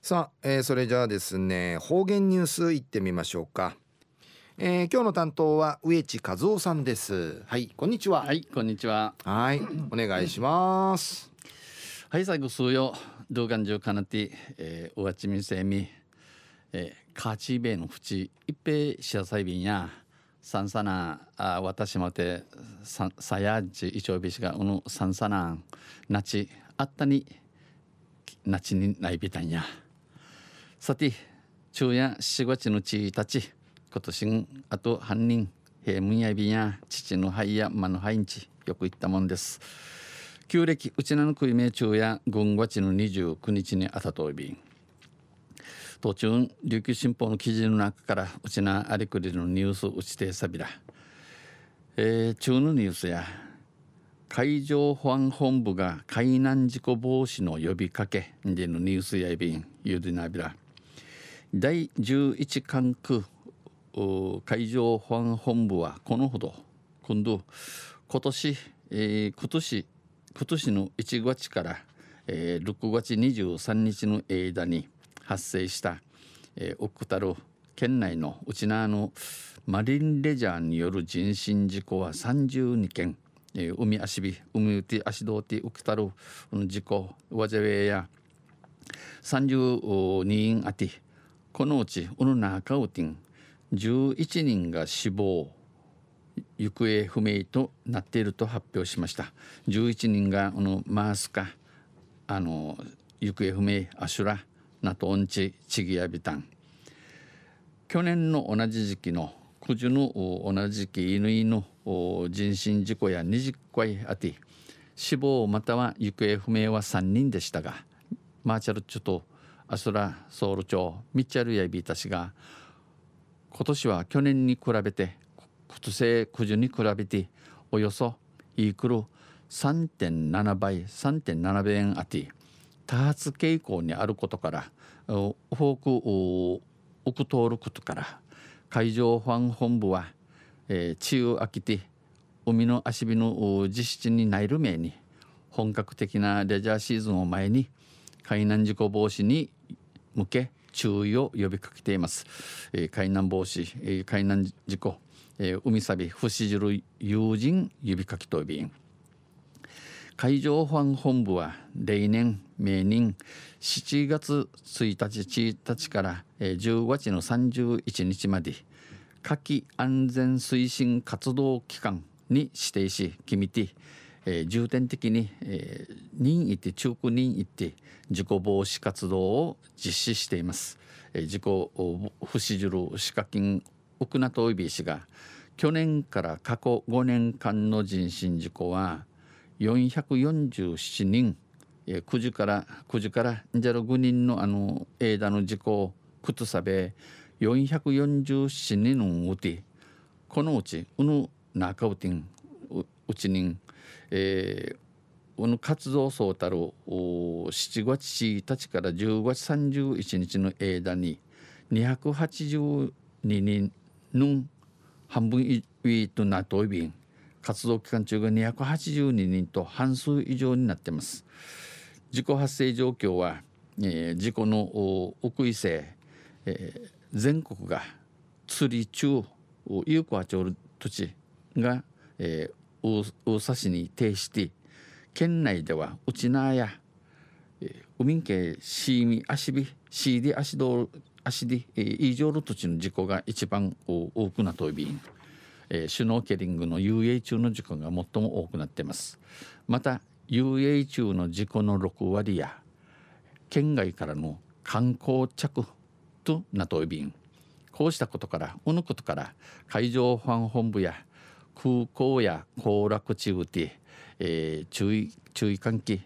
さあ、それじゃあですね、方言ニュースいってみましょうか。今日の担当は植地和夫さんです。はい、こんにちは。 はい、こんにちは。 はい、お願いします。 はい、最後数曜動画中かなて、おわちみせみ、カーチーベイの淵一平シアサイビンやサンサナ私まてさやじいちょうびしがサンサナなちあったになちにないびたんや。さて昼夜4月のちたち今年あと犯人平munやびや父の肺や間の肺んちよく言ったもんです。旧暦うちなの食い名中や軍月の29日にあたといびん途中琉球新報の記事の中からうちなありくりのニュースうちてさびら、中のニュースや海上保安本部が海難事故防止の呼びかけでのニュースやいびんゆでなびら第11管区海上保安本部はこのほど今年、今年の1月から、6月23日の間に発生した、オクタル県内のうちなのマリンレジャーによる人身事故は32件、海足び海うて足どうてウクタル事故わぜべや32人あてこのうち中うてん11人が死亡行方不明となっていると発表しました。11人がマースカ行方不明アシュラナトオンチチギヤビタン去年の同じ時期の九時の同じ時期犬の人身事故や20回あて死亡または行方不明は3人でしたがマーチャルチュとアスラソウル町ミッチャルヤビータ氏が今年は去年に比べて今年九時に比べておよそイークル 3.7 倍 3.7 倍円あて多発傾向にあることから多く奥通ることから海上保安本部は、梅雨明けて海の足火の実施にないるめに本格的なレジャーシーズンを前に海難事故防止に向け注意を呼びかけています。海難防止、海難事故、海サビ不死汁友人呼びかけとびん海上保安本部は例年明年7月1日から10月の31日まで夏季安全推進活動期間に指定し決めて、重点的に、任意て中古任意て事故防止活動を実施しています。事故不死汁歯科菌奥名といびしが去年から過去5年間の人身事故は447人9時から5人の間の事故をくとさべ447人のうちこのうち中うてんうちに活動総たる7月1日から10月31日の間に282人の半分以上となっていびん活動期間中が282人と半数以上になっています。事故発生状況は、事故の奥伊勢、全国が釣り中有効町土地が、大佐市に呈して県内ではうちなや、海系シーミ足火シーディ足道足で以上の土地の事故が一番多くなっており、シュノーケリングの遊泳中の事故が最も多くなっています。また遊泳中の事故の6割や県外からの観光着となっており、こうしたことから海上保安本部や空港や行楽地うて、注意喚起、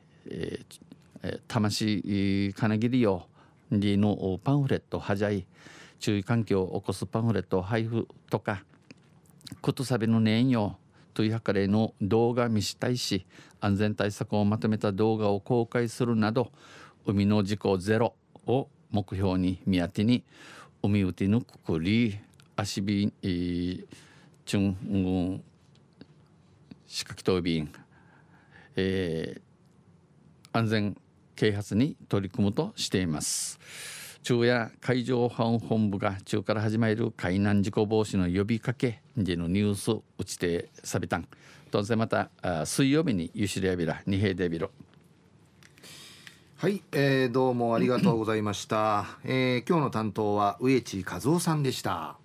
魂金切りよりのパンフレットはじゃい注意喚起を起こすパンフレット配布とかことさびの年よというはかれの動画見したいし安全対策をまとめた動画を公開するなど海の事故ゼロを目標に見当てに海うてぬくくり足びちゅん仕掛けとびん、安全啓発に取り組むとしています。中夜海上保安本部が中から始まる海難事故防止の呼びかけでのニュースを打ちてさびたん。当然また水曜日にゆしりやびら二平デビロ。 はい、どうもありがとうございました。今日の担当は植地和夫さんでした。